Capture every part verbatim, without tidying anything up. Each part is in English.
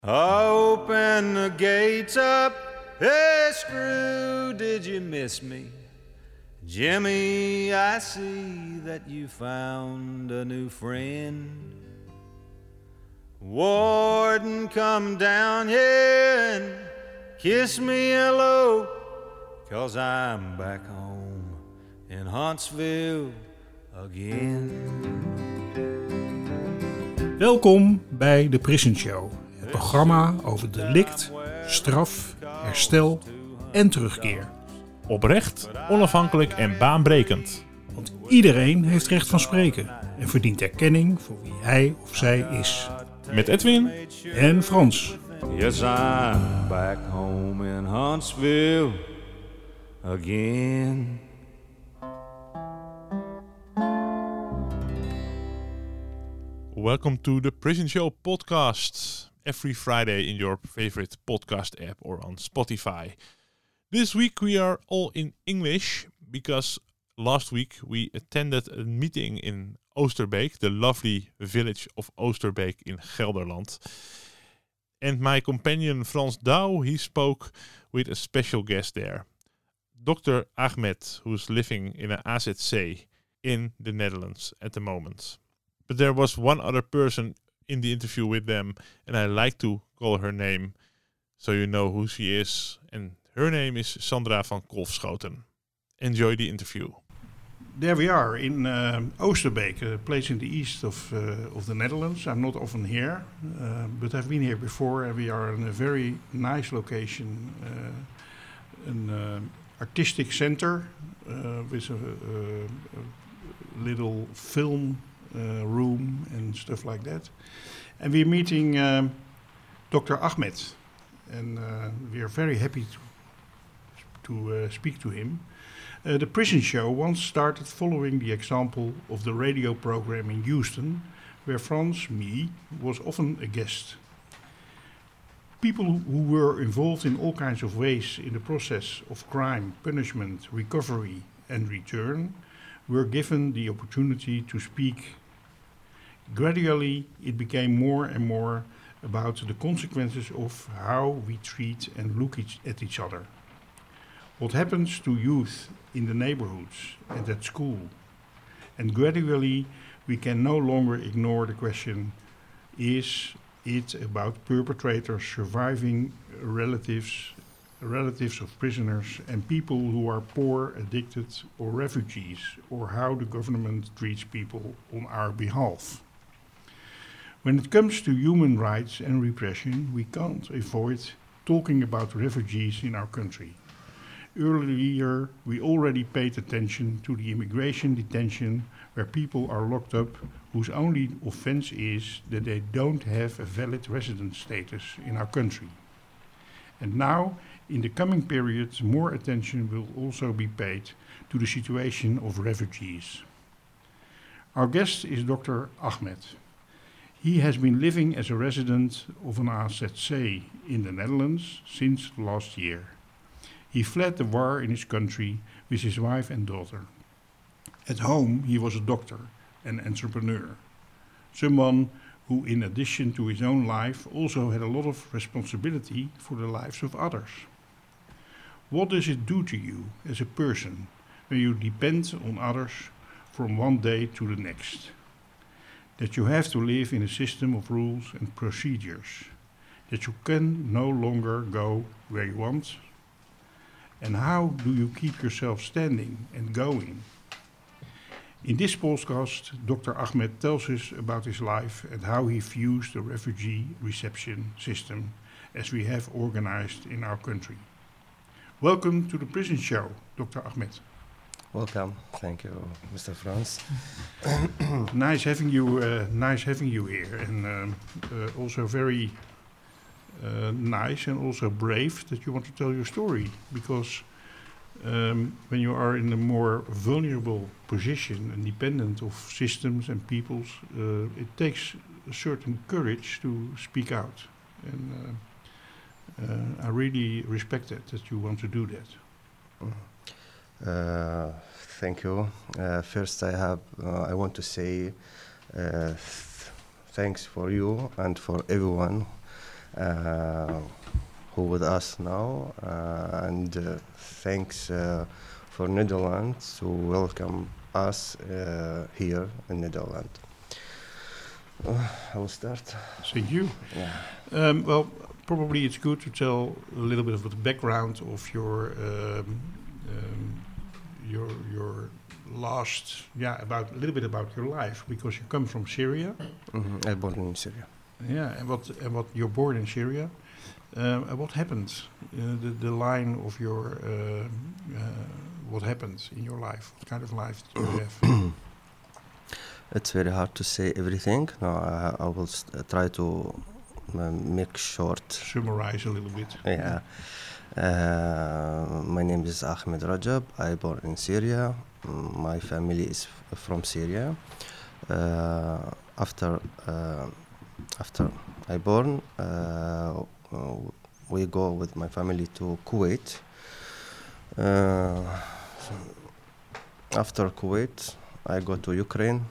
Open the gates up, hey Screw, did you miss me? Jimmy, I see that you found a new friend. Warden, come down here and kiss me hello, 'cause I'm back home in Huntsville again. Welkom bij de Prison Show, het programma over delict, straf, herstel en terugkeer. Oprecht, onafhankelijk en baanbrekend. Want iedereen heeft recht van spreken en verdient erkenning voor wie hij of zij is. Met Edwin en Frans. Yes, I'm back home in Huntsville again. Welcome to the Prison Show podcast. Every Friday in your favorite podcast app or on Spotify. This week we are all in English because last week we attended a meeting in Oosterbeek, the lovely village of Oosterbeek in Gelderland. And my companion Frans Douw, he spoke with a special guest there, Doctor Ahmed, who's living in an A Z C in the Netherlands at the moment. But there was one other person in the interview with them, and I like to call her name so you know who she is. And her name is Sandra van Kolfschoten. Enjoy the interview. There we are in uh, Oosterbeek, a place in the east of uh, of the Netherlands. I'm not often here, uh, but I've been here before, and we are in a very nice location, uh, an uh, artistic center uh, with a, a, a little film uh, room and stuff like that. And we're meeting uh, Doctor Ahmed, and uh, we are very happy to to uh, speak to him. Uh, the Prison Show once started following the example of the radio program in Houston, where Frans, me, was often a guest. People who were involved in all kinds of ways in the process of crime, punishment, recovery and return were given the opportunity to speak. Gradually, it became more and more about the consequences of how we treat and look each at each other. What happens to youth in the neighborhoods and at school. And gradually we can no longer ignore the question, is it about perpetrators surviving relatives, relatives of prisoners and people who are poor, addicted or refugees, or how the government treats people on our behalf. When it comes to human rights and repression, we can't avoid talking about refugees in our country. Earlier, we already paid attention to the immigration detention where people are locked up whose only offense is that they don't have a valid resident status in our country. And now, in the coming period, more attention will also be paid to the situation of refugees. Our guest is Doctor Ahmed. He has been living as a resident of an A Z C in the Netherlands since last year. He fled the war in his country with his wife and daughter. At home, he was a doctor and entrepreneur, someone who, in addition to his own life, also had a lot of responsibility for the lives of others. What does it do to you as a person when you depend on others from one day to the next? That you have to live in a system of rules and procedures, that you can no longer go where you want? And how do you keep yourself standing and going? In this podcast, Doctor Ahmed tells us about his life and how he views the refugee reception system as we have organized in our country. Welcome to the Prison Show, Doctor Ahmed. Welcome. Thank you, Mister Frans. Nice having you. Uh, nice having you here, and um, uh, also very uh, nice and also brave that you want to tell your story. Because um, when you are in a more vulnerable position and dependent of systems and peoples, uh, it takes a certain courage to speak out, and uh, uh, I really respect that that you want to do that. Mm. Uh, thank you. Uh, first, I have uh, I want to say uh, th- thanks for you and for everyone uh, who with us now, uh, and uh, thanks uh, for Netherlands to welcome us uh, here in Netherlands. Uh, I will start. Thank you. Yeah. Um, well, probably it's good to tell a little bit of the background of your um, um, your your last, yeah, about a little bit about your life, because you come from Syria. Mm-hmm. I born in Syria. Yeah, and what and what you're born in Syria. Um, and what happened? Uh, the the line of your uh, uh, what happened in your life? What kind of life did you have? It's very hard to say everything. No, I, I will st- uh, try to uh, make short. Summarize a little bit. Yeah. Uh, my name is Ahmed Rajab. I born in Syria. Mm, My family is f- from Syria. Uh, after uh, after I born, uh, uh, we go with my family to Kuwait. Uh, after Kuwait, I go to Ukraine.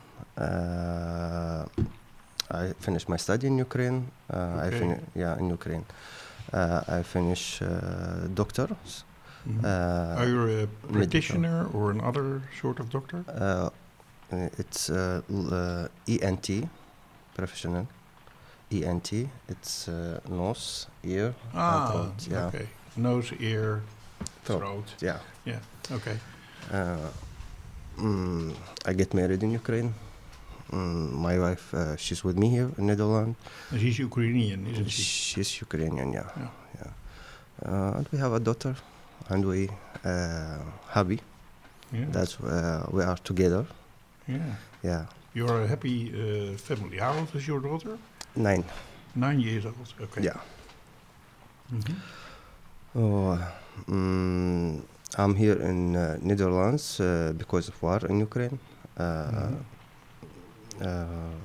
Uh, I finish my study in Ukraine. Uh, I Okay. fin- yeah, in Ukraine. Uh, I finish uh, doctors. Mhm. Uh, Are you a practitioner or another sort of doctor? uh, it's uh, l- uh, E N T, professional. E N T. It's uh, nose, ear, and throat. Yeah, okay. Nose, ear, Throat. throat. yeah. Yeah, okay. Uh, mm, I get married in Ukraine. Mm, my wife, uh, she's with me here in Netherlands. And she's Ukrainian, isn't she? She's Ukrainian, yeah. Yeah. yeah. Uh, and we have a daughter, and we uh, happy Yeah. that uh, we are together. yeah. Yeah, You're a happy uh, family. How old is your daughter? nine. Nine years old. Okay. Yeah. Mhm. Oh, mm, I'm here in uh, Netherlands uh, because of war in Ukraine. Uh, Mhm. uh,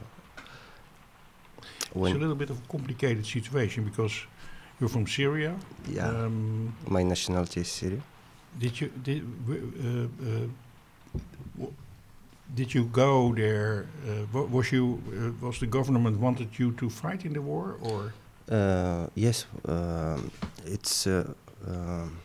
It's a when little bit of a complicated situation because you're from Syria. yeah, Um, my nationality is Syrian. did you did w- uh, uh, w- did you go there? Uh, wa- was you uh, was the government wanted you to fight in the war or? Uh, yes, um, it's uh, um,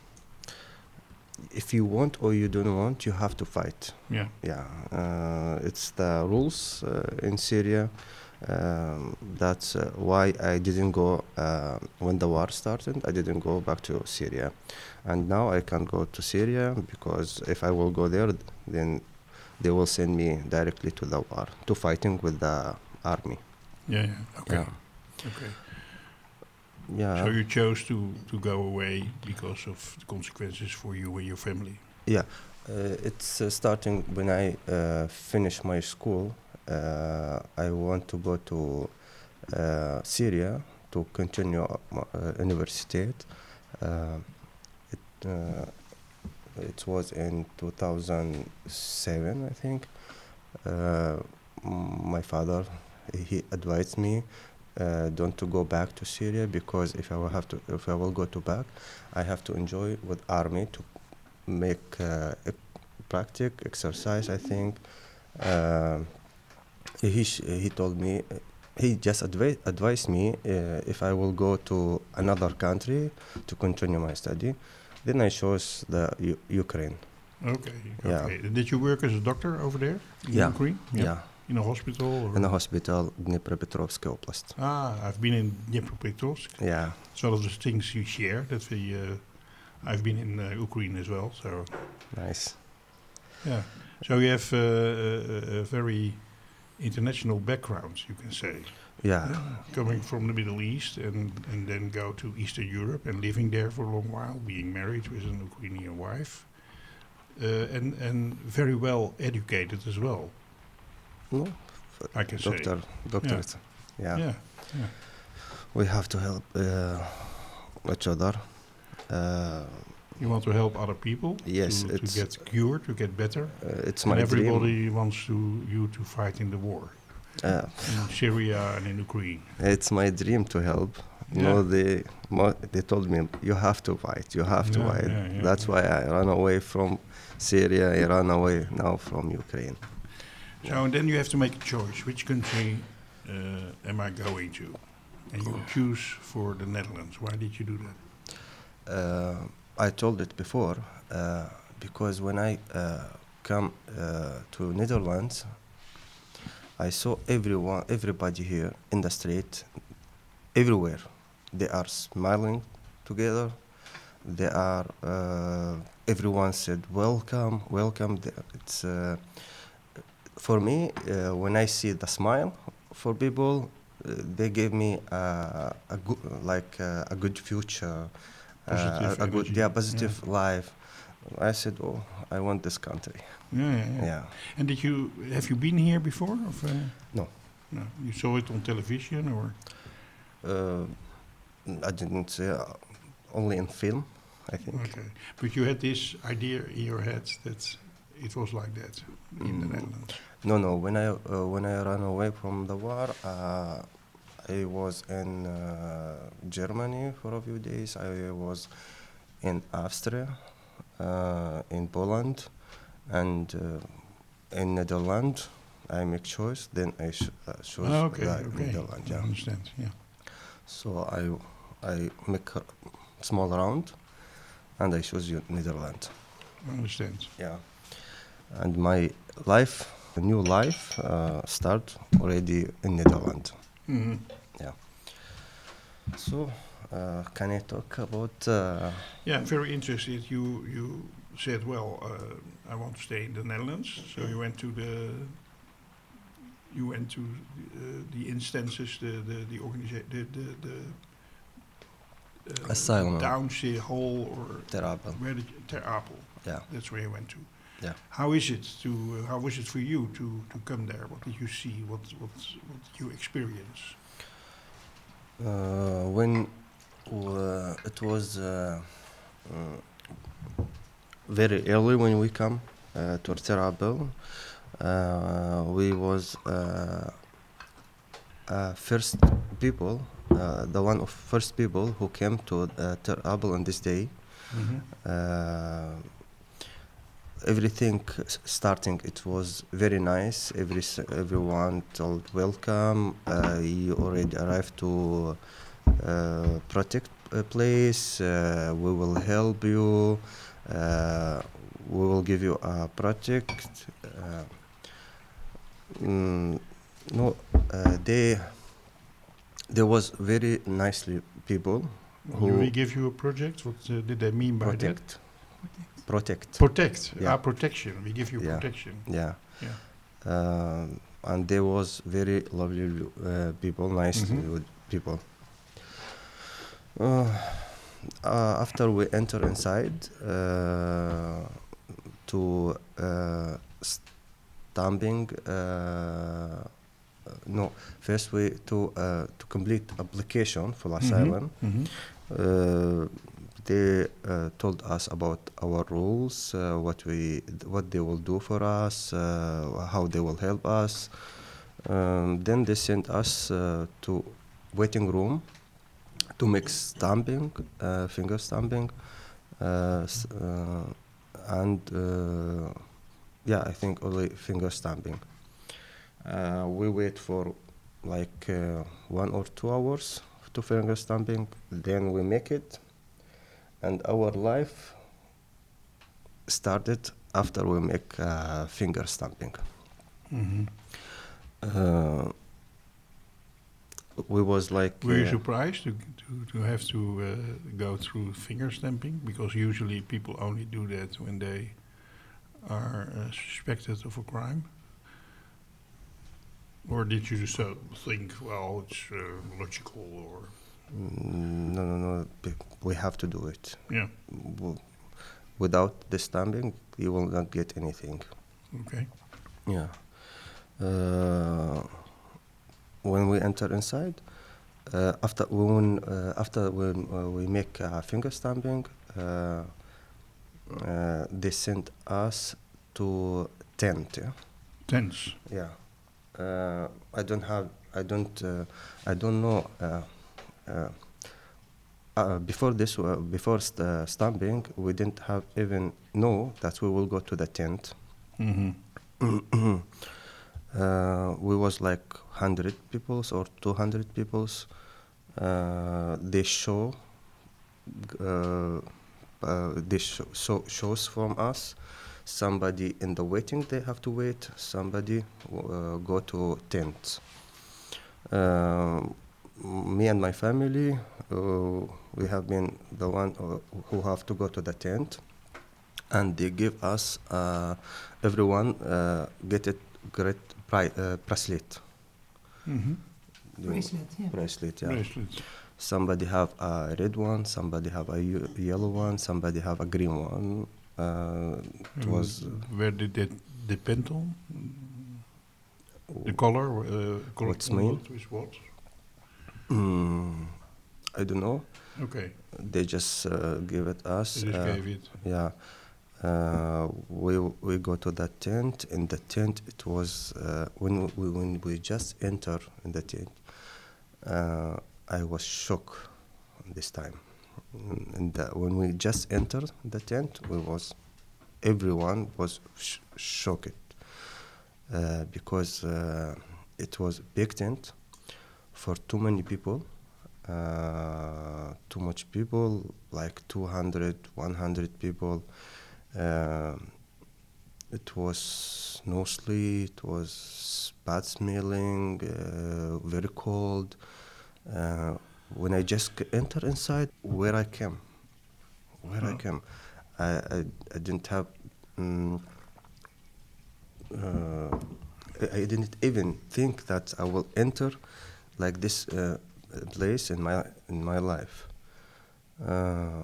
if you want or you don't want, you have to fight. Yeah. Yeah, uh, it's the rules uh, in Syria. Um, that's uh, why I didn't go uh, when the war started. I didn't go back to Syria, and now I can go to Syria because if I will go there, then they will send me directly to the war to fighting with the army. Yeah. Yeah. Okay. Yeah. Okay. Yeah. So you chose to to go away because of the consequences for you and your family. Yeah, uh, it's uh, starting when I uh, finish my school. Uh, I want to go to uh, Syria to continue my uh, university. Uh, it, uh, it was in two thousand seven, I think. Uh, m- my father, he advised me uh, don't to go back to Syria because if I will have to, if I will go to back, I have to enjoy with army to make uh, e- practice exercise. I think um he sh- he told me he just advi- advised me uh, if I will go to another country to continue my study. Then I chose the U- Ukraine. Okay. Yeah. Okay. Did you work as a doctor over there in Yeah. Ukraine? Yeah, In a hospital? Or? in a hospital Dnipropetrovsk Oblast. Ah, I've been in Dnipropetrovsk. Yeah, It's one of the things you share. That we, uh, I've been in uh, Ukraine as well. So nice. yeah. So you have uh, a, a very international background, you can say. Yeah, Yeah. Coming from the Middle East and, and then go to Eastern Europe and living there for a long while, being married with an Ukrainian wife, uh, and and very well educated as well. no, I can say. doctor, doctor. Yeah. Yeah. We have to help uh, each other. Uh, You want to help other people. Yes, To, to it's- get cured, to get better. uh, it's And my everybody dream. wants to you to fight in the war Uh, in Syria and in Ukraine. It's my dream to help. You know, Yeah. they mo- they told me you have to fight. You have to Yeah, fight. yeah, yeah, That's yeah. why I ran away from Syria. I ran away now from Ukraine. So and then you have to make a choice. Which country uh, am I going to? And you choose for the Netherlands. Why did you do that? Uh, I told it before uh, because when I uh, come uh, to Netherlands, I saw everyone, everybody here in the street, everywhere. They are smiling together. They are. Uh, everyone said, "Welcome, welcome." It's uh, for me uh, when I see the smile for people, uh, they gave me uh, a good, like uh, a good future, Positive uh, a good, energy. yeah, positive life. I said, "Oh, I want this country." Yeah, yeah, yeah. Yeah. And did you have you been here before? Of, uh, No. No. You saw it on television or? Uh, I didn't say uh, only in film, I think. Okay, but you had this idea in your head that it was like that in the Mm. Netherlands. No, no. When I uh, when I ran away from the war, uh, I was in uh, Germany for a few days. I was in Austria, uh, in Poland, and uh, in Netherlands. I make choice. Then I sh- uh, chose Ah, okay, the okay. Netherlands. I Yeah. understand. Yeah. So I I make a small round, and I choose U- Netherlands. I understand. Yeah. And my life, a new life, uh, start already in Netherlands. Hmm. Yeah. So, uh, can I talk about? Uh, Yeah, I'm very interested. You you said, well, uh, I want to stay in the Netherlands. So you went to the you went to uh, the instances, the the the organization, the the, the uh, Asylum. Downsy Hall, or Ter Apel. where did you, Ter Apel? Yeah. That's where you went to. Yeah. How is it to? Uh, how was it for you to to come there? What did you see? What what what did you experience? Uh, when uh, it was uh, uh, very early when we come uh, to Ter Apel, uh, we was uh, uh, first people, uh, the one of first people who came to uh, Ter Apel on this day. Mm-hmm. Uh, everything s- starting, it was very nice. Every s- everyone told welcome. Uh, you already arrived to uh, protect a place. Uh, we will help you. Uh, we will give you a project. Uh, mm, no, uh, they there was very nicely people Do who we give you a project? What uh, did they mean by protect. that? Protect. Protect. Yeah. Ah, protection. We give you Yeah. protection. Yeah. Yeah. Um, and there was very lovely uh, people, nice Mhm. uh, people. Uh, uh, after we enter inside uh, to uh, stamping, uh, no, first we to uh, to complete application for asylum. Mhm. Uh, they uh, told us about our rules, uh, what we, what they will do for us, uh, how they will help us. Um, then they sent us uh, to waiting room to make stamping, uh, finger stamping, uh, s- uh, and uh, yeah, I think only finger stamping. Uh, we wait for like uh, one or two hours to finger stamping. Then we make it, and our life started after we make uh, finger stamping. Mhm. Uh, we was like. Were you uh, surprised to, to, to have to uh, go through finger stamping? Because usually people only do that when they are uh, suspected of a crime. Or did you so think, well, it's uh, logical, or Mm, No, no, no. be- We have to do it. yeah, W- Without the stamping, you will not get anything. okay. Yeah. Uh, when we enter inside, uh, after when uh, after when uh, we make uh, finger stamping, uh, uh, they sent us to tent. Yeah. Tense. Yeah. Uh, I don't have. I don't. Uh, I don't know. Uh, uh, uh, before this, uh, before st- uh, stamping, we didn't have even know that we will go to the tent. Mm-hmm. uh, we was like hundred peoples or two hundred peoples. Uh, they show uh, uh, they show, so shows from us. Somebody in the waiting, they have to wait. Somebody uh, go to tent. Uh, me and my family, uh, we have been the one uh, who have to go to the tent, and they give us uh, everyone uh, get a great pri- uh, bracelet. Mm-hmm. Bracelet, yeah. Bracelet, yeah. Bracelets. Somebody have a red one, somebody have a ye- yellow one, somebody have a green one. Uh, it And was where did that depend on? The color? Uh, color What's on mean? what is what? mm, I don't know. Okay, They just uh, give it us. they just uh, gave it. Yeah. Uh, we we go to the tent. In the tent, it was uh, when we when we just enter in the tent. Uh, I was shocked this time. Mm, And the, when we just entered the tent, we was everyone was sh- shocked uh, because uh, it was big tent for too many people. Uh, too much people, like two hundred, one hundred people. Uh, it was no sleep, it was bad smelling, uh, very cold. Uh, when I just c- enter inside, where I came, where I Oh. came, I, I, I didn't have, mm, uh, I I didn't even think that I will enter like this uh, place in my in my life. Uh,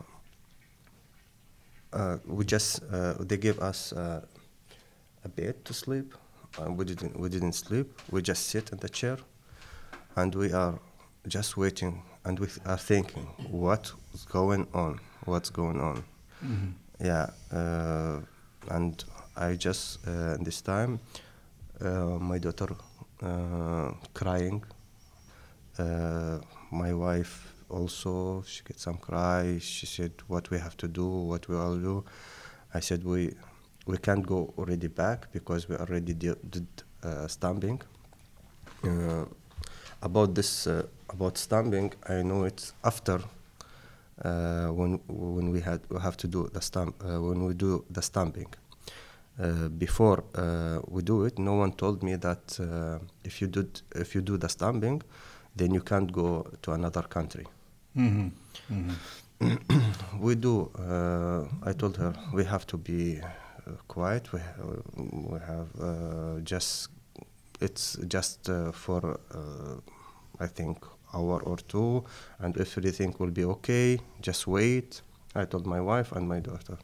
uh, we just uh, they gave us uh, a bed to sleep. Uh, we didn't we didn't sleep. We just sit in the chair, and we are just waiting, and we are thinking, what's going on? What's going on? Mm-hmm. Yeah, uh, and I just uh, this time, uh, my daughter uh, crying. Uh, my wife also, she get some cry. She said, "What we have to do? What we all do?" I said, "We we can't go already back because we already did, did uh, stamping." Uh, about this uh, about stamping, I know it's after uh, when when we had we have to do the stamp uh, when we do the stamping. Uh, before uh, we do it, no one told me that uh, if you did if you do the stamping, then you can't go to another country. Mm-hmm. Mm-hmm. We do. Uh, I told her we have to be uh, quiet. We ha- we have uh, just it's just uh, for uh, I think hour or two, and if everything will be okay, just wait. I told my wife and my daughter.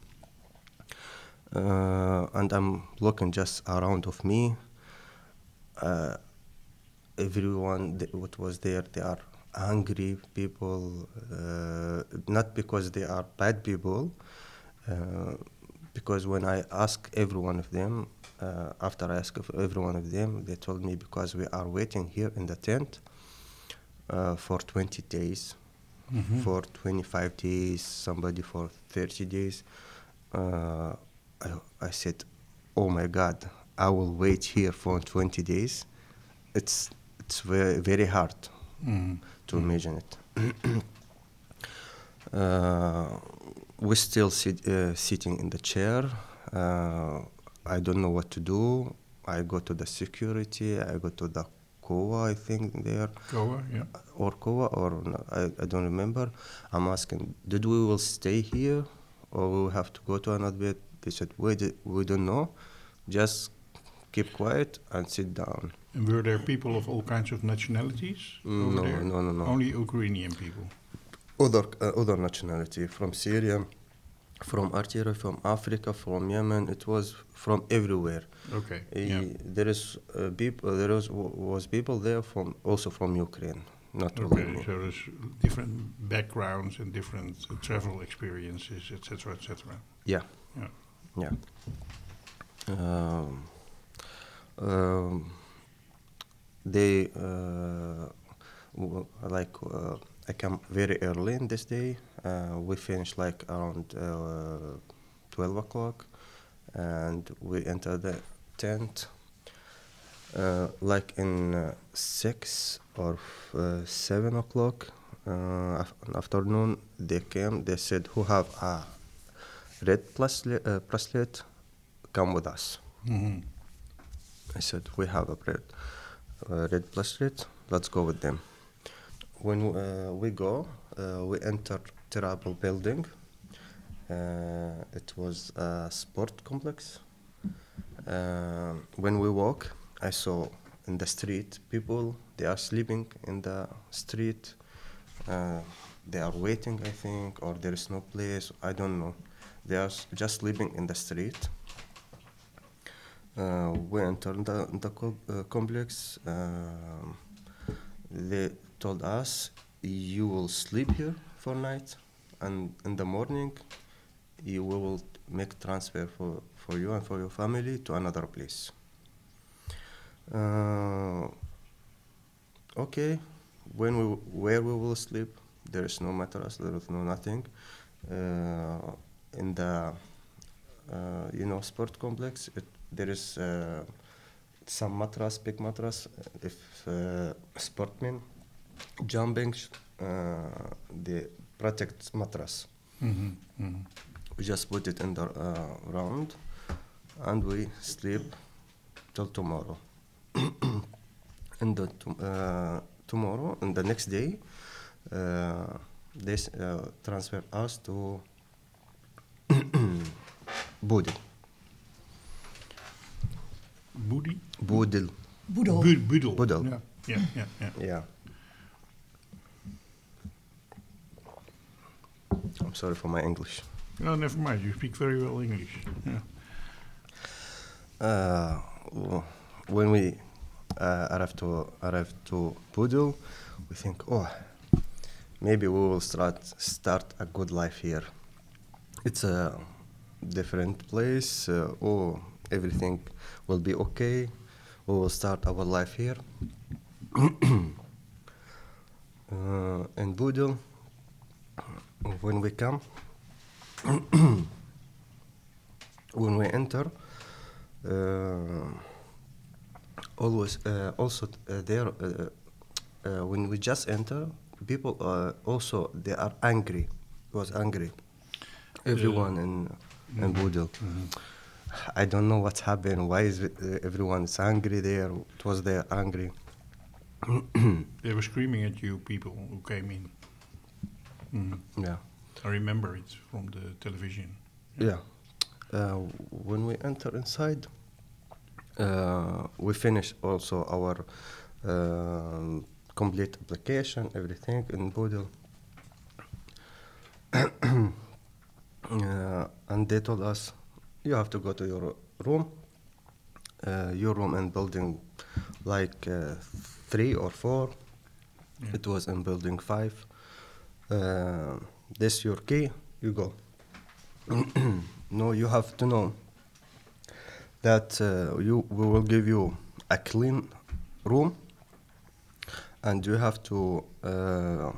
Uh, and I'm looking just around of me. Uh, everyone th- what was there, they are hungry people, uh, not because they are bad people, uh, because when I ask every one of them, uh, after I ask of every one of them, they told me because we are waiting here in the tent uh, for twenty days, Mm-hmm. for twenty-five days, somebody for thirty days. Uh, I, I said, oh my God, I will wait here for twenty days. It's it's very very hard Mm-hmm. to imagine it. uh, we still sit, uh, sitting in the chair. Uh, I don't know what to do. I go to the security. I go to the C O A, I think there, Goa, yeah. or C O A, or no, I, I don't remember. I'm asking, did we will stay here, or we will have to go to another bed? They said, we, di- we don't know. Just keep quiet and sit down. And were there people of all kinds of nationalities over No, there? no, no, no. Only Ukrainian people. Other uh, other nationality from Syria, from Algeria, from Africa, from Yemen. It was from everywhere. Okay. Uh, Yeah. There is uh, people. There was was people there from also from Ukraine, not Okay. Romania. So there's different backgrounds and different uh, travel experiences, et cetera, et cetera. Yeah, Yeah. yeah. Um, um, they uh, w- like uh, I come very early in this day. Uh, we finish like around uh, twelve o'clock, and we enter the tent. Uh, like in uh, six or f- uh, seven o'clock, Uh, af- in afternoon, they came. They said, "Who have a red bracelet? Uh, bracelet? Come with us." Mm-hmm. I said, "We have a red, uh, red bracelet. Let's go with them." When uh, we go, uh, we enter terrible building. Uh, it was a sport complex. Uh, when we walk, I saw in the street people. They are sleeping in the street. Uh, they are waiting, I think, or there is no place. I don't know. They are s- just sleeping in the street. Uh, we entered the, the co- uh, complex. Um they told us, "You will sleep here for night, and in the morning, you we will make transfer for, for you and for your family to another place." Uh, okay, when we where we will sleep, there is no mattress, there is no nothing. Uh, in the uh, you know sport complex, it, there is uh, some mattress, big mattress. If uh, sportmen jumping, sh- uh, the protect mattress. Mm-hmm. Mm-hmm. We just put it in the uh, round, and we sleep till tomorrow. And the tom- uh, tomorrow and the next day, uh, they s- uh, transfer us to Budil. Boedi? Budil. Boedel. Bu- Budel. Budel. Yeah, yeah, yeah. yeah. Yeah. I'm sorry for my English. No, never mind. You speak very well English. Yeah. Uh, w- when we uh, arrive to arrive to Budil, we think, oh, maybe we will start start a good life here. It's a different place. Uh, oh, everything will be okay. We will start our life here. uh, in Budil, when we come, when we enter, uh, always uh, also uh, there uh, uh, when we just enter, people uh, also they are angry. Was angry. Everyone in in Budil. I don't know what's happened. Why is it, uh, everyone is angry there? It was they angry. They were screaming at you, people who came in. Mhm. Yeah. I remember it from the television. Yeah. Uh, when we enter inside, uh, we finish also our um, complete application, everything in Budil. uh, and they told us, you have to go to your room. Uh, your room in building like uh, three or four. Yeah. It was in building five. Uh, this your key, you go. No, you have to know that uh, you we will give you a clean room, and you have to uh, uh,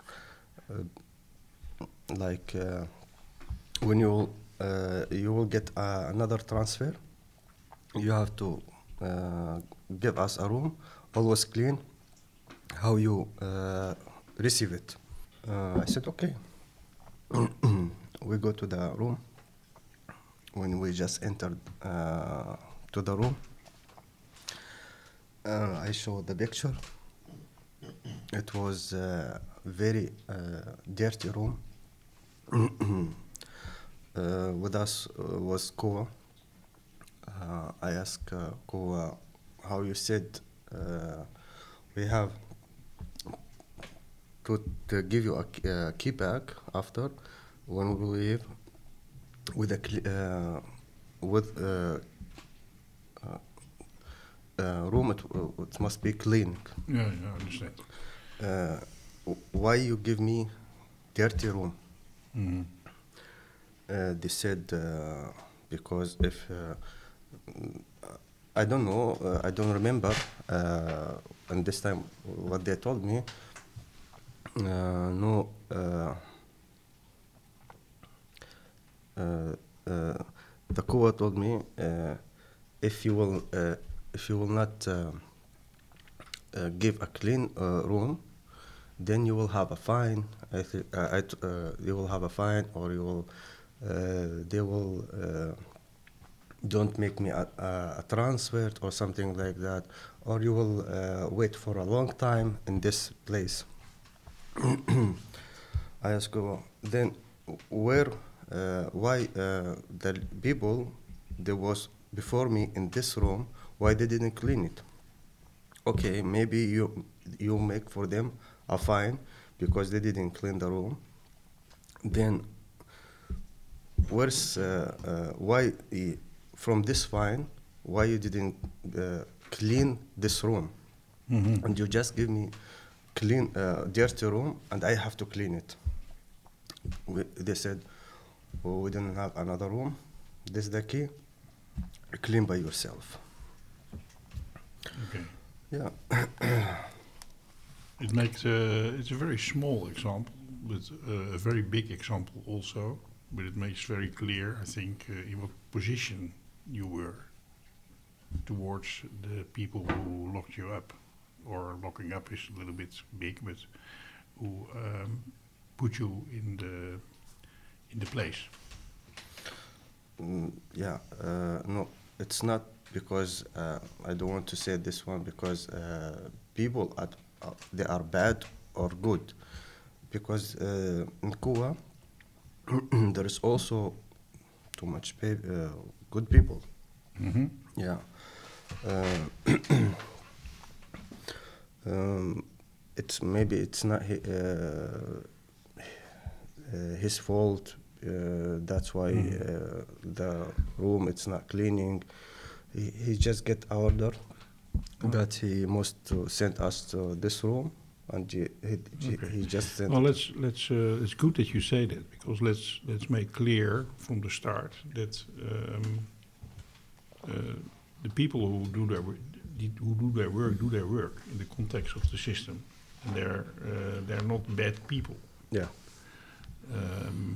like uh, when you will, uh, you will get uh, another transfer. You have to uh, give us a room, always clean. How you uh, receive it? Uh, I said okay. We go to the room. When we just entered uh, to the room, uh, I showed the picture. It was a very uh, dirty room. uh, with us uh, was Koa. Uh, I asked uh, Koa how you said uh, we have to, to give you a key, uh, key back after when we leave with a cl- uh, with uh, uh, uh, room. It, uh, it must be clean. Yeah, yeah, I understand. Uh, w- why you give me dirty room? Mhm. Uh, they said uh, because if uh, I don't know, uh, I don't remember. Uh, and this time, what they told me, uh, no. Uh, uh, uh, the Koa told me uh, if you will, uh, if you will not uh, uh, give a clean uh, room, then you will have a fine. I th- uh, I t- uh, you will have a fine, or you will, uh, they will uh, don't make me a, a, a transfer or something like that, or you will uh, wait for a long time in this place. I ask you, then where, uh, why uh, the people that was before me in this room, why they didn't clean it? Okay, maybe you you make for them a fine because they didn't clean the room. Then where's uh, uh, why uh, from this fine, why you didn't uh, clean this room? Mm-hmm. And you just give me clean uh, dirty room and I have to clean it. We, they said, oh, we didn't have another room. This is the key. Clean by yourself. Okay. Yeah. It makes uh, it's a very small example, but uh, a very big example also. But it makes very clear, I think, uh, in what position you were towards the people who locked you up, or locking up is a little bit big, but who um, put you in the in the place. Mm, yeah. Uh, no, it's not because uh, I don't want to say this one because uh, people at uh, they are bad or good, because uh, in Cuba there is also too much pe- uh, good people. Mm-hmm. Yeah. Uh, um, it's maybe it's not hi- uh, uh, his fault. Uh, that's why Mm. uh, the room it's not cleaning. He, he just get order Oh. that he must to send us to this room, and he he, Okay. he just sent. Well, let's let's. Uh, it's good that you say that, because let's let's make clear from the start that um, uh, the people who do their wo- die- who do their work do their work in the context of the system, and they're uh, they're not bad people. Yeah. Um,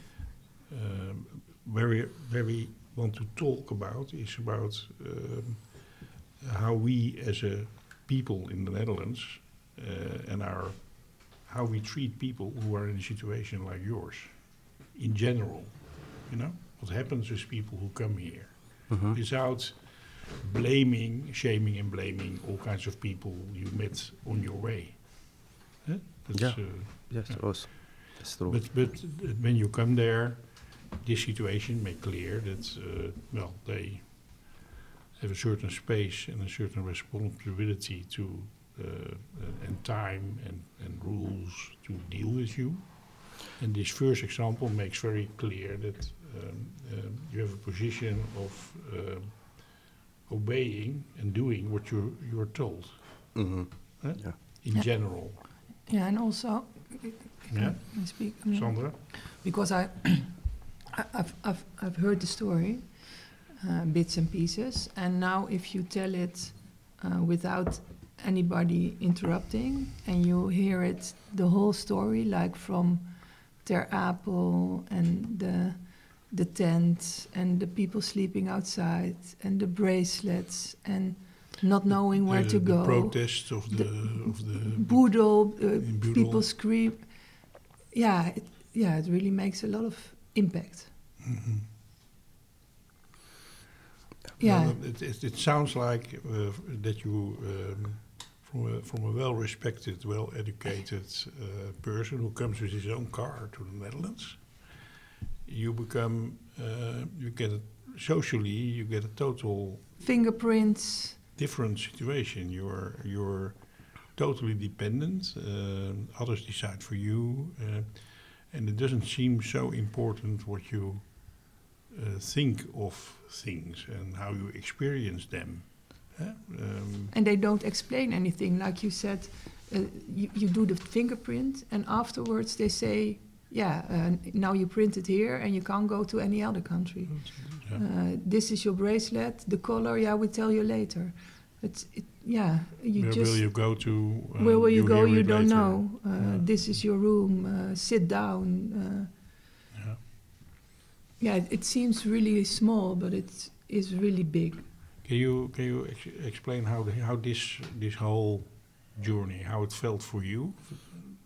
um, where we where we want to talk about is about um, how we as a people in the Netherlands uh, and our how we treat people who are in a situation like yours in general. You know what happens with people who come here Mhm. without blaming, shaming, and blaming all kinds of people you met on your way. Huh? That's, Yeah. uh, Yes, Yeah. also. That's true. But but uh, when you come there, this situation make clear that uh, well they have a certain space and a certain responsibility to uh, uh, and time and, and rules to deal with you. And this first example makes very clear that um, um, you have a position of um obeying and doing what you're you're told. Mhm. Huh? Yeah. In Yeah. general. Yeah, and also, Yeah. I speak um, Sandra? because I, I- I've, I've, I've heard the story, uh, bits and pieces, and now if you tell it uh, without anybody interrupting, and you hear it the whole story, like from Ter Apel and the the tent and the people sleeping outside and the bracelets and not knowing where the, to the go. protests of the, The of the Boodle, uh, in Boedel. people scream. Yeah, it, yeah, it really makes a lot of impact. Mhm. Yeah, Well, it, it, it sounds like uh, that you, um, from a, from a well-respected, well-educated uh, person who comes with his own car to the Netherlands, you become, uh, you get a, socially, you get a total fingerprints. different situation. You're you're totally dependent. Um others decide for you, uh, and it doesn't seem so important what you uh, think of things and how you experience them. Huh? Um, And they don't explain anything. Like you said, uh, you, you do the fingerprint, and afterwards they say, yeah, uh, now you print it here, and you can't go to any other country. yeah. Uh, this is your bracelet, the color, yeah, we tell you later. It's, it, yeah, you Where just... will you go to? um, Where will you, go? hear You it don't later. know. Uh, Yeah. This is your room. Uh, sit down. Uh, Yeah. yeah, it, it seems really small, but it is really big. Can you can you ex- explain how the, how this this whole journey, how it felt for you,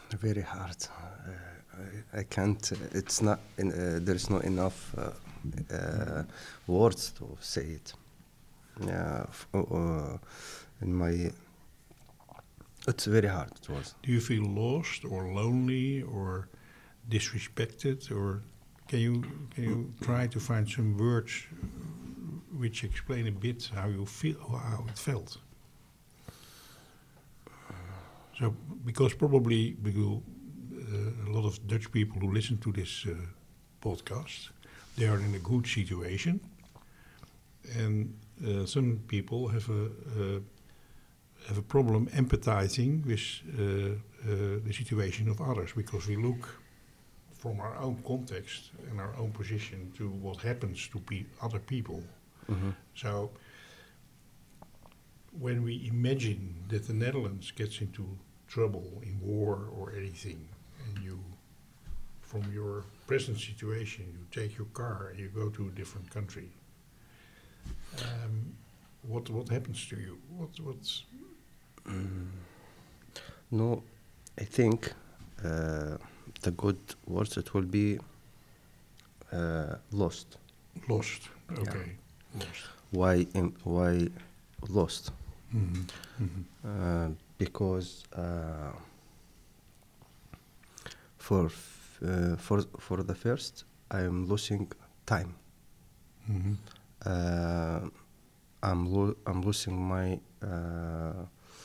Very hard. Uh, I, I can't. Uh, it's not. In, uh, there's not enough uh, uh, words to say it. Yeah. F- uh, in my. It's very hard. It was. Do you feel lost or lonely or disrespected, or can you can you try to find some words which explain a bit how you feel, how it felt? So, because probably because, uh, a lot of Dutch people who listen to this uh, podcast, they are in a good situation, and uh, some people have a uh, have a problem empathizing with uh, uh, the situation of others, because we look from our own context and our own position to what happens to pe- other people. Mm-hmm. So, when we imagine that the Netherlands gets into trouble in war or anything, and you, from your present situation, you take your car and you go to a different country, um, what what happens to you? What what's Mm. No, I think uh, the good words it will be uh, lost. lost? Okay, lost. Why? Im- why lost? Mm-hmm. Mm-hmm. Uh, because uh, for f- uh, for for the first, I am losing time. Mm-hmm. Uh, I'm lo- I'm losing my uh,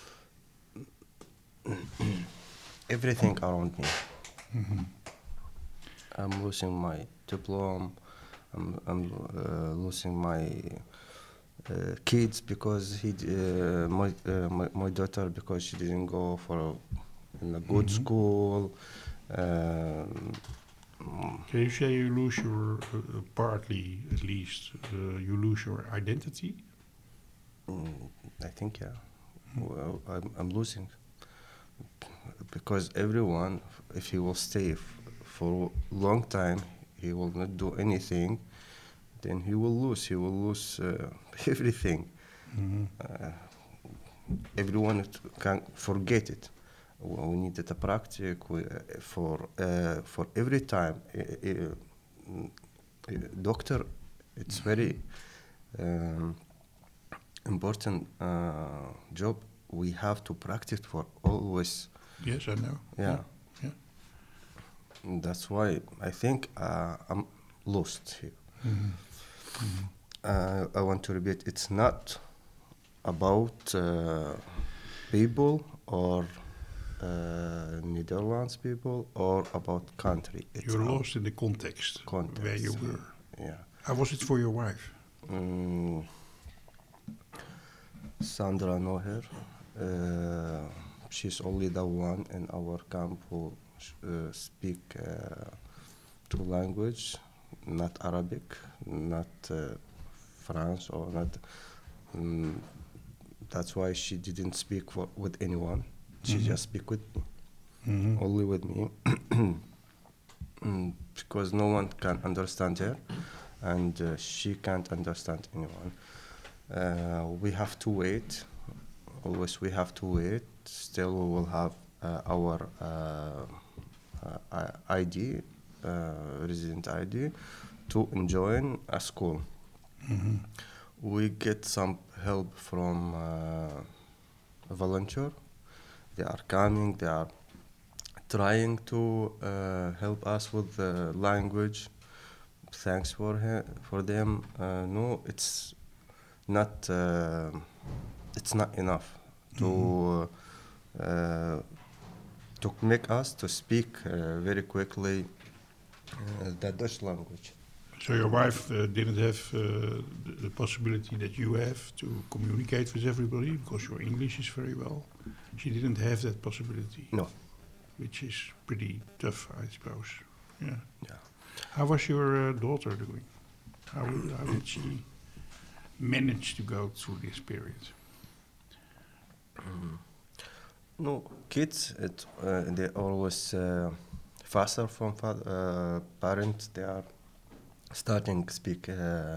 everything around me. Mm-hmm. I'm losing my diploma. I'm I'm uh, losing my uh, kids because he d- uh, my, uh, my my daughter because she didn't go for a, in a good Mhm. school. Um, Can you say you lose your, uh, partly at least, uh, you lose your identity? mm, I think yeah. Well, I'm I'm losing because everyone, if he will stay f- for a long time, he will not do anything. Then he will lose. He will lose uh, everything. Mm-hmm. Uh, everyone t- can forget it. W- We need to practice we, uh, for uh, for every time. Uh, uh, mm, uh, doctor, it's very um, important uh, job. We have to practice for always. Yes, I know. Yeah. Yeah. That's why I think uh, I'm lost here. Mm-hmm. Mm-hmm. Uh, I want to repeat, it's not about uh, people or uh, Netherlands people or about country. It's You're about lost in the context, context. where you were. Yeah. How was it for your wife? Mm, Sandra know her. Uh, she's only the one in our camp who uh, speak uh, two language, not Arabic, not uh, French or not. Mm, that's why she didn't speak for, with anyone. She Mhm. just speak with me, Mm-hmm. only with me, mm, because no one can understand her, and uh, she can't understand anyone. Uh, we have to wait. Always we have to wait. Still, we will have uh, our uh, uh, I D, uh, resident I D, to join a school. Mm-hmm. We get some help from uh, a volunteer. They are coming. They are trying to uh, help us with the language. Thanks for he- for them. Uh, no, it's not. Uh, it's not enough to uh, to make us to speak uh, very quickly uh, the Dutch language. So your wife uh, didn't have uh, the, the possibility that you have to communicate with everybody because your English is very well. She didn't have that possibility. No. Which is pretty tough, I suppose. Yeah. Yeah. How was your uh, daughter doing? How, how did she manage to go through this period? Mm. No, kids, it, uh, they always uh, faster from fa- uh, parents. They are starting to speak uh,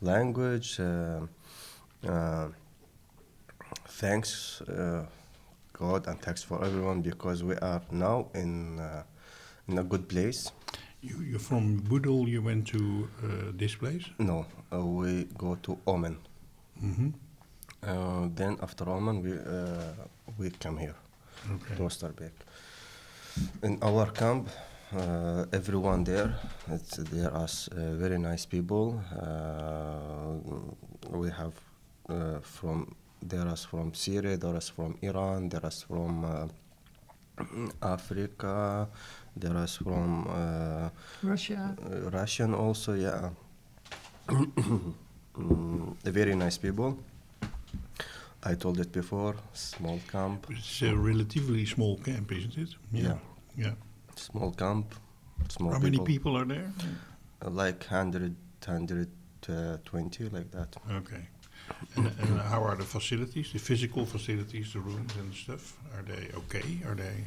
language. Uh, uh, thanks uh, God and thanks for everyone because we are now in uh, in a good place. You, you're from Budel, you went to uh, this place? No, uh, we go to Oman. Mm-hmm. Uh, then after Oman, we uh, we come here Okay. to Oosterbeek. In our camp, uh, everyone there, it's, there are uh, very nice people. Uh, we have uh, from there is from Syria, there is from Iran, there is from uh, Africa, there is from uh, Russia. uh, Russian also, yeah. mm, very nice people. I told it before, small camp. It's a relatively small camp, isn't it? Yeah. Yeah. Small camp, small How people. many people are there? Uh, like one hundred, one hundred twenty, like that. Okay. And, and how are the facilities, the physical facilities, the rooms and stuff? Are they okay? Are they?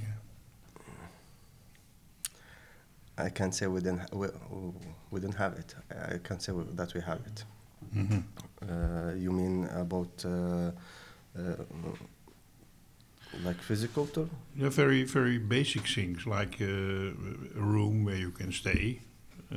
I can't say we didn't, ha- we, we didn't have it. I can't say we, that we have it. Mm-hmm. Uh, you mean about uh, uh, like physical tour? Yeah, very, very basic things like uh, a room where you can stay. Uh,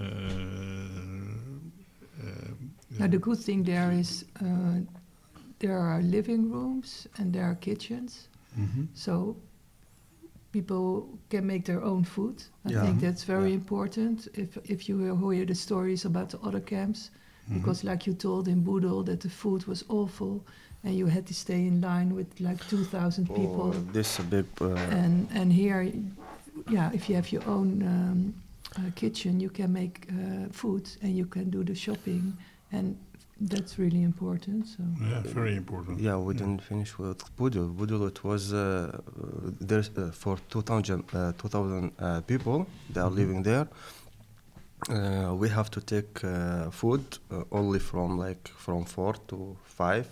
uh, Now the good thing there is uh, there are living rooms and there are kitchens, mhm. so people can make their own food. I Yeah. think that's very Yeah. important. If if you hear, hear the stories about the other camps, Mhm. because like you told in Budel that the food was awful and you had to stay in line with like two thousand people. Oh, this is a big. Uh, And and here, y- yeah, if you have your own um, uh, kitchen, you can make uh, food and you can do the shopping, and that's really important. So Yeah, very important. yeah, we didn't finish with Budul. Budul, it was uh, uh, there's uh, for two thousand uh, two thousand uh, people. They are Mhm. living there. Uh, we have to take uh, food uh, only from like from four to five.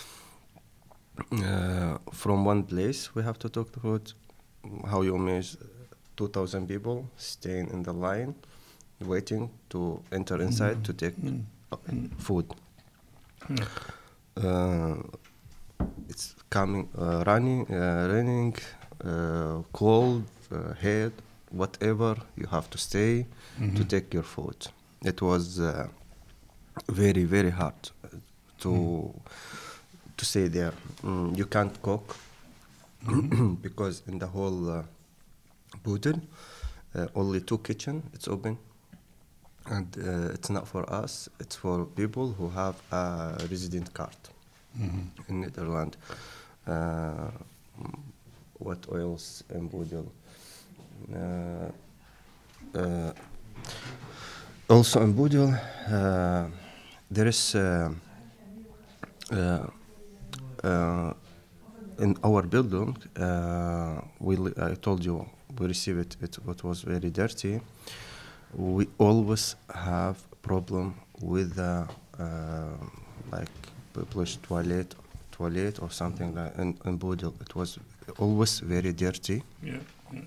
Uh, from one place, we have to take the food. How you measure two thousand people staying in the line, waiting to enter inside Mm. to take Mm. uh, Mm. food. Yeah. Uh, it's coming, uh, running, uh, raining, uh, cold, uh, head, whatever. You have to stay to Mhm. take your food. It was uh, very, very hard uh, to Mm. to stay there. Mm, you can't cook Mhm. because in the whole uh, Budel, uh, only two kitchen. It's open. And uh, it's not for us, it's for people who have a resident card Mhm. in Netherlands. Uh, mm, what else in Budel? Uh, uh, also in Budel, uh, there is uh, uh, uh, in our building, uh, we li- I told you we received it, it, it was very dirty. We always have problem with the uh, like publish toilet, toilet or something like in, in Budel. It was always very dirty. Yeah. Yeah.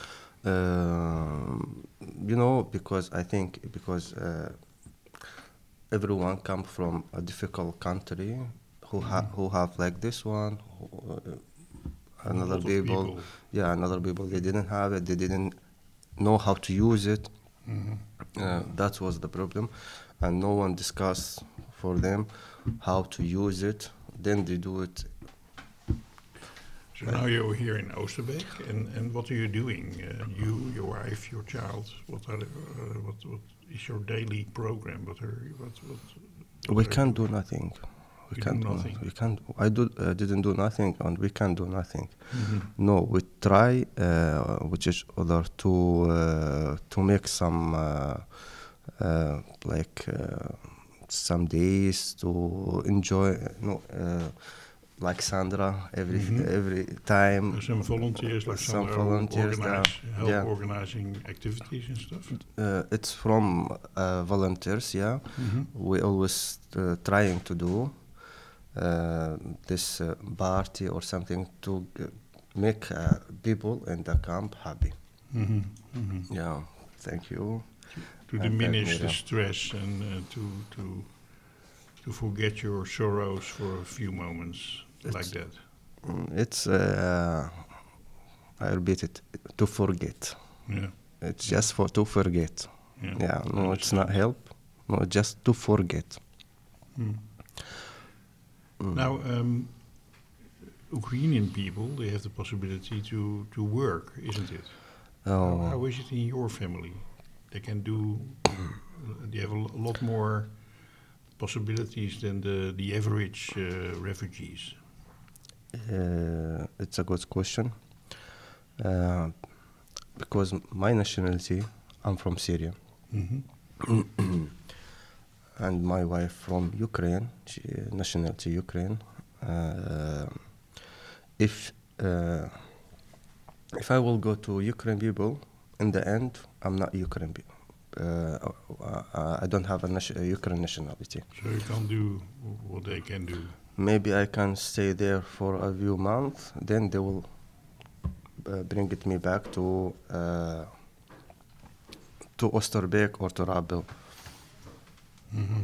Um, you know, because I think because uh, everyone come from a difficult country who ha- Mhm. who have like this one, who, uh, A another lot of people, yeah, another people they didn't have it, they didn't know how to use it. Mhm. Uh, that was the problem, and no one discuss for them how to use it. Then they do it. So now you're here in Oosterbeek, and, and what are you doing? Uh, you, your wife, your child. What are the, uh, what what is your daily program? What are what what? what We are can't you- do nothing. We You can't do do nothing. nothing. We can't. I do. Uh, didn't do nothing, and we can't do nothing. Mhm. No, we try, uh, which is other to uh, to make some uh, uh, like uh, some days to enjoy. No, uh, like Sandra every Mhm. every time. Uh, some volunteers, like Some some, volunteers organize, there, help yeah. organizing activities and stuff. Uh, it's from uh, volunteers. Yeah, Mhm. we always uh, trying to do uh, this uh, party or something to g- make uh, people in the camp happy. Mhm. Mhm. Yeah, thank you. To And diminish thank the you. stress and uh, to to to forget your sorrows for a few moments, like It's- that. Mm, It's, uh, I repeat it, to forget. Yeah. It's just for to forget. Yeah. Yeah, I no, it's not understand. help. No, just to forget. Hmm. Mm. Now, um, Ukrainian people, they have the possibility to, to work, isn't it? How, Oh, how is it in your family? They can do, uh, they have a lo- lot more possibilities than the, the average uh, refugees. uh, it's a good question. Uh, because my nationality, I'm from Syria, Mm-hmm. and my wife from Ukraine, she, nationality Ukraine. Uh, if uh, if I will go to Ukraine people, in the end, I'm not Ukraine people. Uh, uh, I don't have a nation- Ukraine nationality. So you can't do what they can do. Maybe I can stay there for a few months, then they will uh, bring it me back to uh, to Oosterbeek or to Rabel. Mm-hmm.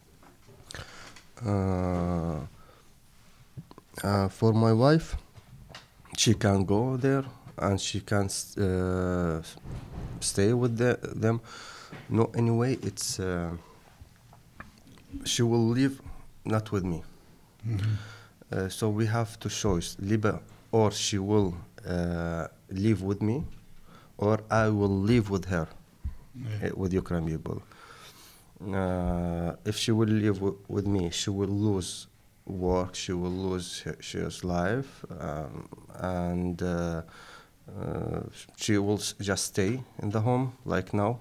Uh, uh, for my wife, she can go there and she can s- uh, s- stay with the, them. No, anyway, it's uh, she will live not with me. Mm-hmm. Uh, so we have to choose, Liba, or she will uh, live with me, or I will live with her, Yeah. uh, with Ukraine people. Uh, if she will live w- with me, she will lose work, she will lose her, she's life, um, and uh, uh, she will s- just stay in the home like now.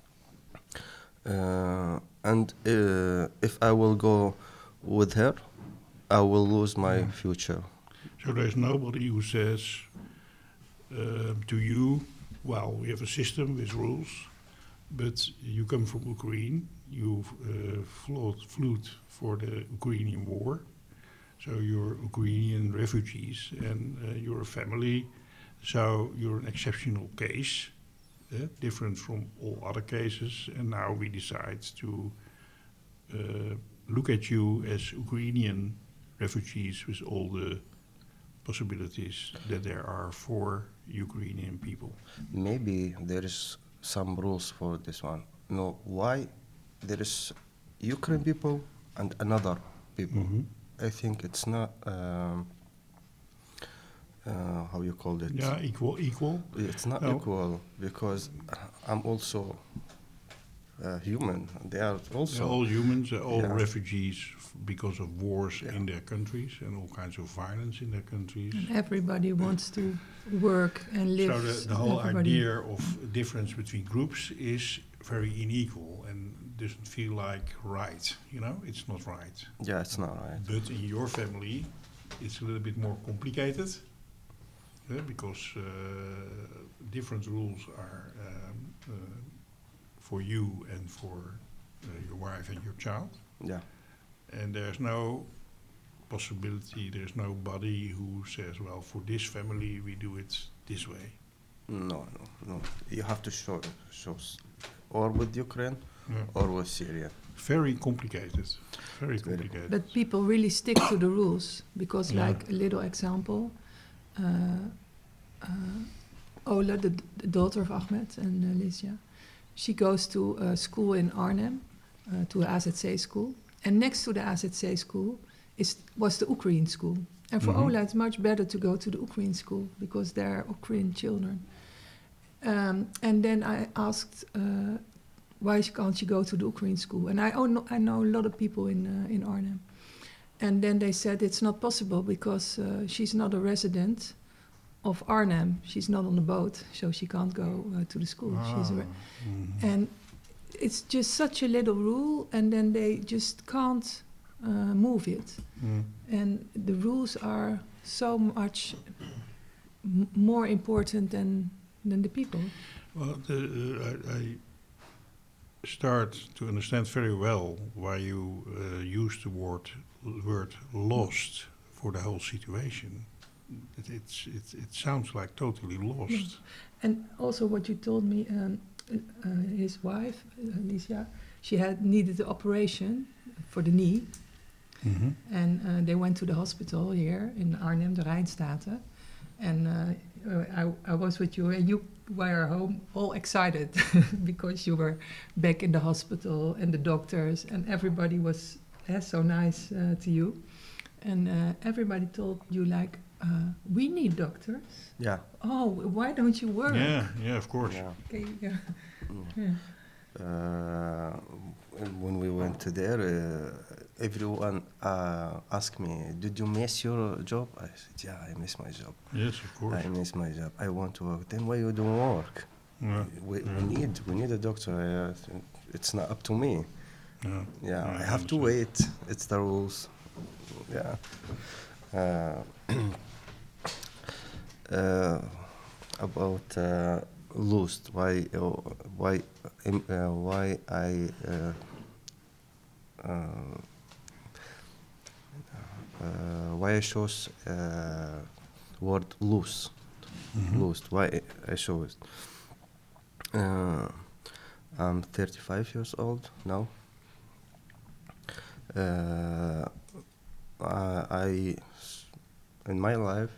Uh, and uh, if I will go with her, I will lose my Yeah. future. So there's nobody who says uh, to you, well, we have a system with rules, but you come from Ukraine, you've uh, flowed, flew for the Ukrainian war, so you're Ukrainian refugees and uh, you're a family, so you're an exceptional case, uh, different from all other cases, and now we decide to uh, look at you as Ukrainian refugees with all the possibilities that there are for Ukrainian people. Maybe there is some rules for this one. No, why there is Ukraine people and another people? Mhm. I think it's not um, uh, how you call it. Yeah, equal, equal. It's not No. equal because I'm also uh, human. They are They're also. all humans, they're all Yeah. refugees f- because of wars Yeah. in their countries and all kinds of violence in their countries. And everybody wants to work and live. So the, the whole everybody. idea of difference between groups is very unequal and doesn't feel like right. You know, it's not right. Yeah, it's not right. But in your family, it's a little bit more complicated uh, because uh, different rules are um, uh, for you and for uh, your wife and your child. Yeah. And there's no possibility, there's nobody who says, well, for this family, we do it this way. No, no, no. You have to show show s- or with Ukraine Yeah. or with Syria. Very complicated. Very It's very complicated. But people really stick to the rules because, Yeah. like a little example, uh, uh, Ola, the, the daughter of Ahmed and uh, Lisja, she goes to a school in Arnhem, uh, to a A Z C school, and next to the A Z C school is was the Ukraine school. And for Mhm. Ola, it's much better to go to the Ukraine school because there are Ukraine children. Um, and then I asked, uh, why can't she go to the Ukraine school? And I, oh, no, I know a lot of people in uh, in Arnhem. And then they said it's not possible because uh, she's not a resident of Arnhem. She's not on the boat, so she can't go uh, to the school. She's a re- Ah, mhm. and it's just such a little rule, and then they just can't uh, move it. Mm. And the rules are so much m- more important than than the people. Well, the, uh, I, I start to understand very well why you uh, use the word word lost for the whole situation. It, it's it, it sounds like totally lost. And also, what you told me, um, uh, his wife, uh, Alicia, she had needed the operation for the knee, Mhm. And uh, they went to the hospital here in Arnhem, the Rijnstaten. And uh, uh, I, I was with you, and you were home all excited because you were back in the hospital, and the doctors and everybody was uh, so nice uh, to you. And uh, everybody told you, like, uh, we need doctors. Yeah. Oh, why don't you work? Yeah, yeah, of course. Yeah. Okay, yeah. Mm. Yeah. Uh, and when we went to there, uh, everyone uh, asked me, "Did you miss your job?" I said, "Yeah, I miss my job. Yes, of course. I miss my job. I want to work." Then why you don't work? Yeah. We, Yeah. we need we need a doctor. I, think it's not up to me. Yeah. Yeah, Yeah, I I have to understand. wait. It's the rules. Yeah. Uh, uh, about uh, lost. Why? Uh, why? Um, uh, why I? Uh, uh, uh, why I chose uh, word loose? Mhm. Lost. Why I show it? Uh, I'm thirty-five years old now. Uh, I, I, in my life,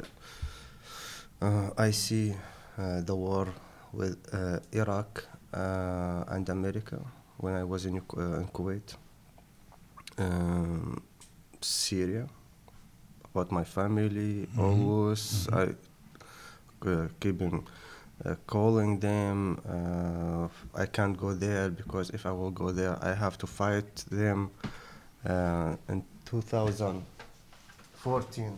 uh, uh, I see uh, the war with uh, Iraq uh, and America when I was in, Uk- uh, in Kuwait, um, Syria, about my family. Mhm. Always Mhm. I uh, keeping uh, calling them. Uh, I can't go there because if I will go there, I have to fight them. Uh, in two thousand fourteen,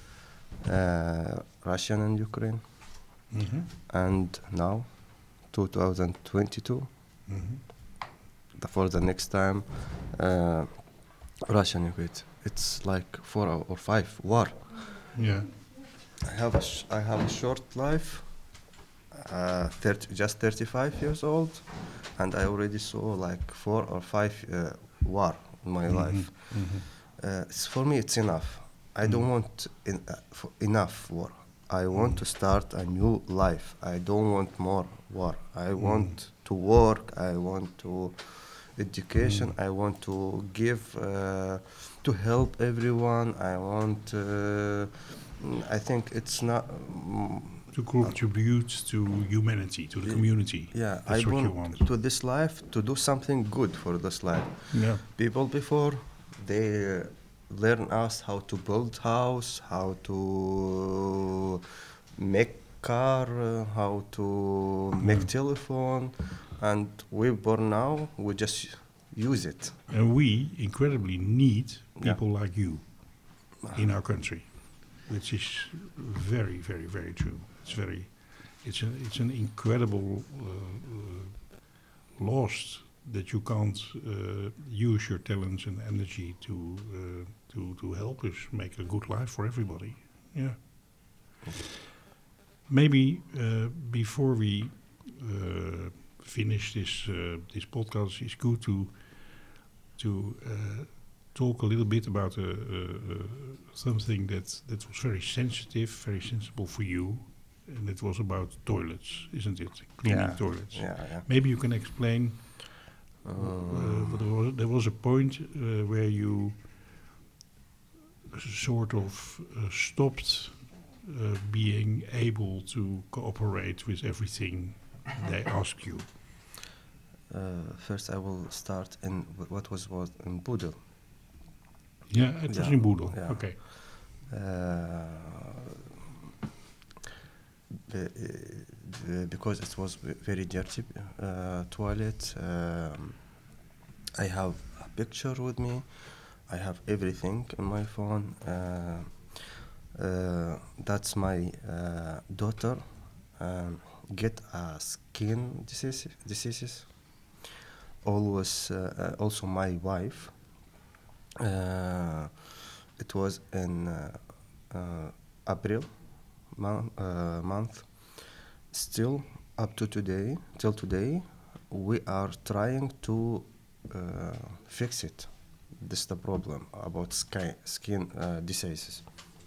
uh, Russia and Ukraine, Mhm. and now two thousand twenty-two. Mhm. The, for the next time, uh, Russia and Ukraine. It's like four or or five war. Yeah. I have a sh- I have a short life, uh, thirty, just thirty-five years old, and I already saw like four or five uh, war in my Mhm. life. Mhm. Uh, it's, for me, it's enough. I don't Mm. want in, uh, for enough war. I want to start a new life. I don't want more war. I want to work. I want to education. I want to give uh, to help everyone. I want. Uh, mm, I think it's not. Mm, To contribute to humanity, to the Yeah. community. yeah, That's I what you want want. to this life to do something good for this life. Yeah. People before they uh, learn us how to build house, how to make car, uh, how to make Mm. telephone, and we born now we just use it. And we incredibly need Yeah. people like you in our country, which is very, very, very true. It's very, it's a, it's an incredible uh, uh, loss that you can't uh, use your talents and energy to uh, to to help us make a good life for everybody. Yeah. Maybe uh, before we uh, finish this uh, this podcast, it's good to to uh, talk a little bit about uh, uh, uh, something that that was very sensitive, very sensible for you, and it was about toilets, isn't it? Cleaning Yeah. toilets. Yeah, yeah. Maybe you can explain. Uh, Um, there, was, there was a point uh, where you sort of uh, stopped uh, being able to cooperate with everything they ask you. uh, first, I will start in wh- what was was in Budel. Yeah, it was Yeah, in Boedel. yeah. Okay. Uh, be- uh, because it was ve- very dirty uh, toilet. Um, I have a picture with me. I have everything on my phone. Uh, uh, that's my uh, daughter. Um, get a skin disease. diseases. Always, uh, uh, also my wife. Uh, it was in uh, uh, April mon- uh, month. Still, up to today, till today, we are trying to uh, fix it. This is the problem about sky, skin uh, diseases.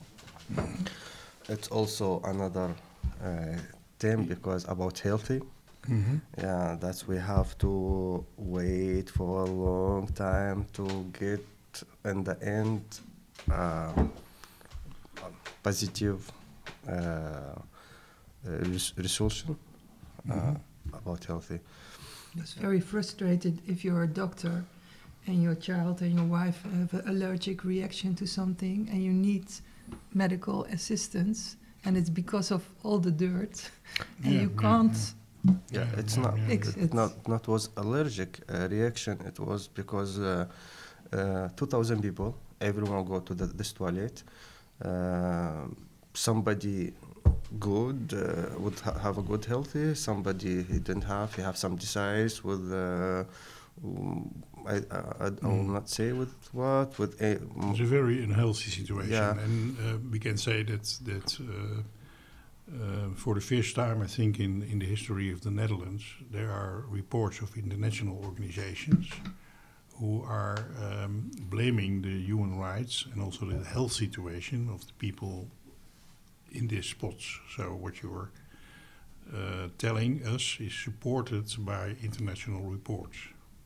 It's also another uh, thing because about healthy. Mm-hmm. Yeah, that's we have to wait for a long time to get in the end uh, positive uh, uh, res- resolution uh, Mhm. about healthy. It's very frustrated if you're a doctor and your child and your wife have an allergic reaction to something and you need medical assistance and it's because of all the dirt and Yeah, you yeah, can't Yeah, Yeah, it's yeah, not yeah. fix it it. not not was allergic uh, reaction. It was because uh, uh, two thousand people, everyone go to the, this toilet. Uh, somebody good uh, would ha- have a good healthy. Somebody he didn't have. He have some disease with. Uh, um, I, I, I will Mm. not say with what with a. It's a very unhealthy situation, Yeah. and uh, we can say that that uh, uh, for the first time, I think in in the history of the Netherlands, there are reports of international organizations who are um, blaming the human rights and also the health situation of the people in these spots. So what you're uh, telling us is supported by international reports.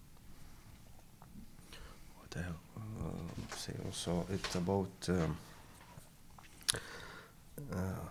What I uh, say also it's about um, uh,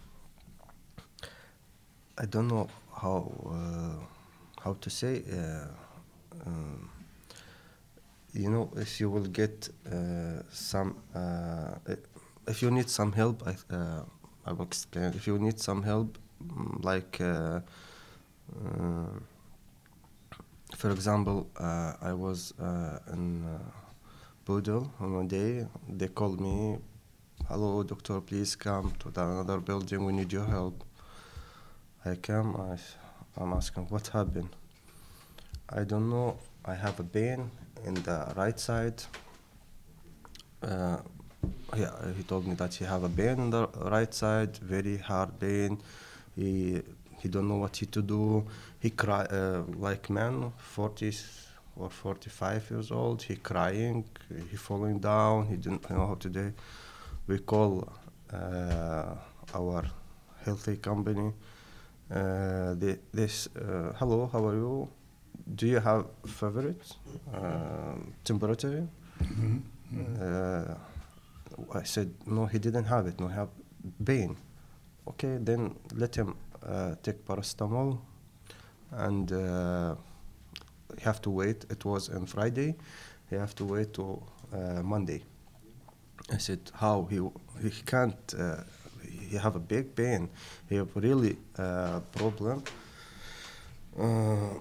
I don't know how uh, how to say uh, um, you know if you will get uh, some uh, if you need some help I uh, I will explain if you need some help mm, like uh, uh, for example, uh, I was uh, in uh, Budel on one day. They called me, "Hello, doctor, please come to the another building. We need your help." I come. I, s- I'm asking, "What happened?" I don't know. I have a pain in the right side. Uh, yeah, he told me that he have a pain in the right side, very hard pain. He he don't know what he to do. He cry uh, like man, forty or forty-five years old. He crying. He falling down. He didn't know how to do. We call uh, our healthy company. Uh, they, this uh, hello, how are you? Do you have favorite uh, temperature? Mhm, mhm. Uh, I said no. He didn't have it. No, he have pain. Okay, then let him uh, take paracetamol, and uh, he have to wait. It was on Friday. He have to wait to uh, Monday. I said, how he he can't. Uh, he have a big pain. He have really uh, problem. Uh,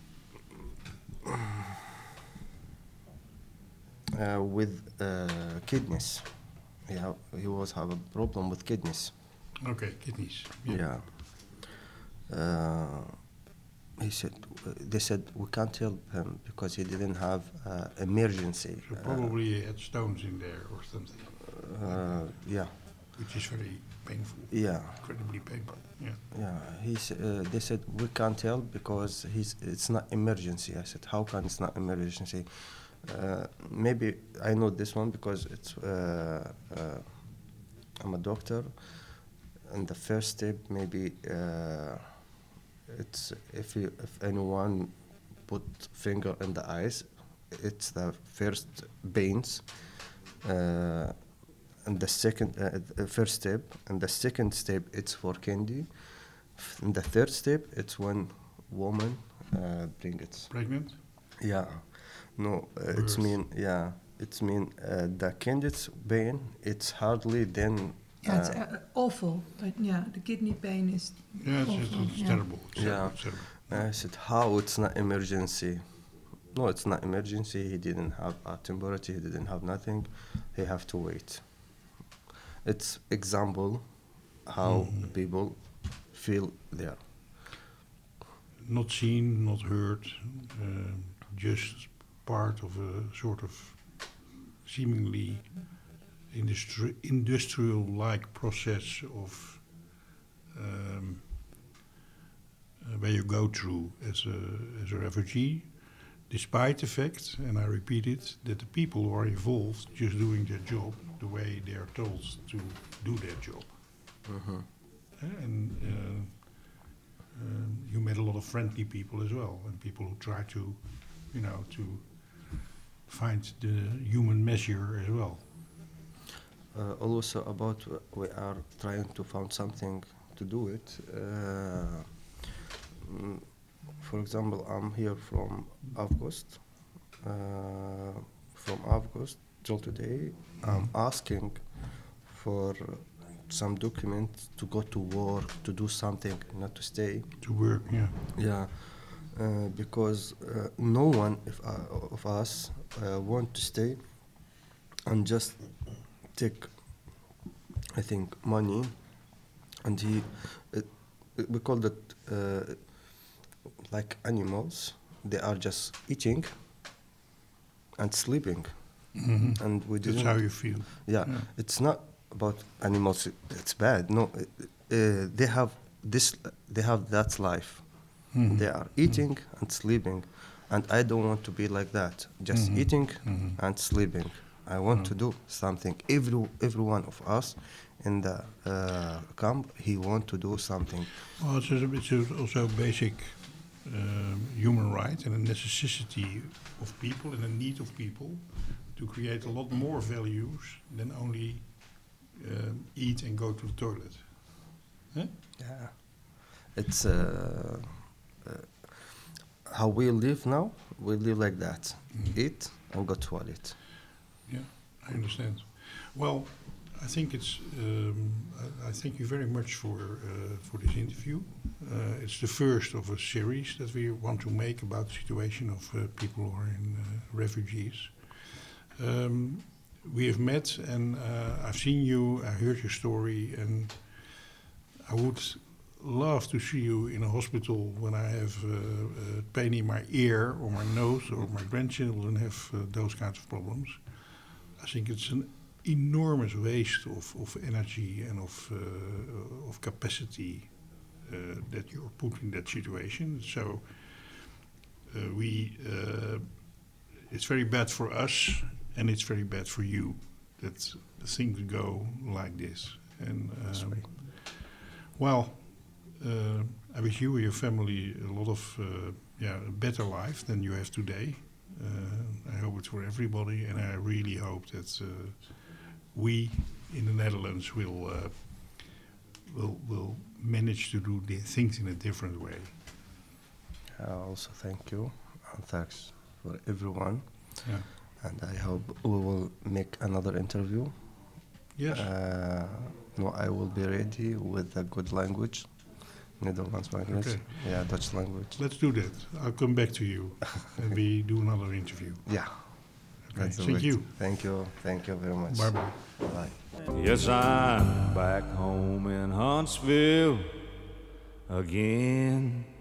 uh, with uh, kidneys. He have, he was have a problem with kidneys. Okay, kidneys. Yeah. Uh, he said, uh, they said we can't help him because he didn't have uh, emergency. So uh, probably he had stones in there or something, Uh, yeah, which is very painful, yeah, incredibly painful. Yeah. yeah. He s- uh, they said we can't help because he's it's not emergency. I said, how can it's not emergency? Uh, maybe I know this one because it's uh, uh, I'm a doctor, and the first step maybe uh, it's if you, if anyone put finger in the eyes, it's the first pains. Uh, and the second, uh, the first step, and the second step, it's for candy. F- And the third step, it's when woman uh, bring it. Pregnant? Yeah, no, uh, it's Birth. mean yeah, it's mean uh, the candidate's pain. It's hardly then. Yeah, it's uh, uh, awful. But yeah, the kidney pain is Yeah, it's, it's, awful. it's yeah. terrible. It's Yeah. terrible, it's terrible. I said, how it's not emergency? No, it's not emergency. He didn't have a temperature. He didn't have nothing. He have to wait. It's example how Mhm. people feel there. Not seen, not heard, um, just part of a sort of seemingly industri- industrial-like process of um, uh, where you go through as a as a refugee, despite the fact, and I repeat it, that the people who are involved just doing their job the way they are told to do their job. Mm-hmm. Uh, and uh, um, you met a lot of friendly people as well, and people who try to, you know, to find the human measure as well. Uh, also about uh, we are trying to find something to do it. Uh, mm, for example, I'm here from August. Uh, from August till today, I'm asking for some documents to go to work, to do something, not to stay. To work, yeah. Yeah, uh, because uh, no one if, uh, of us uh, want to stay and just take, I think, money, and he, it, it, we call that uh, like animals. They are just eating and sleeping, hmm and we That's didn't. how you feel. Yeah, Yeah. it's not about animals. It's bad. No, uh, uh, they have this. They have that life. Mhm. They are eating and sleeping, and I don't want to be like that. Just Mhm. eating Mhm. and sleeping. I want Mm. to do something. Every every one of us in the uh, camp, he want to do something. Well, it's, a, it's a, also a basic um, human right and a necessity of people and a need of people to create a lot more values than only um, eat and go to the toilet. Huh? Yeah, it's uh, uh, how we live now. We live like that: Mhm. eat and go toilet. Yeah, I understand. Well, I think it's. Um, I, I thank you very much for uh, for this interview. Uh, it's the first of a series that we want to make about the situation of uh, people who are in uh, refugees. Um, we have met, and uh, I've seen you. I heard your story, and I would love to see you in a hospital when I have uh, uh, pain in my ear or my nose, or my grandchildren have uh, those kinds of problems. I think it's an enormous waste of, of energy and of uh, of capacity uh, that you're put in that situation. So uh, we, uh, it's very bad for us, and it's very bad for you that things go like this. And um, well, uh, I wish you and your family a lot of uh, yeah a better life than you have today. Uh, I hope it's for everybody, and I really hope that uh, we in the Netherlands will uh, will will manage to do the things in a different way. I also thank you and thanks for everyone. Yeah. And I hope we will make another interview. Yes. Uh, no, I will be ready with a good language, Netherlands language. Okay. Yeah, Dutch language. Let's do that. I'll come back to you and we do another interview. Yeah. Okay. Let's do Thank it. you. Thank you. Thank you very much. Bye bye. Bye. Yes, I'm back home in Huntsville again.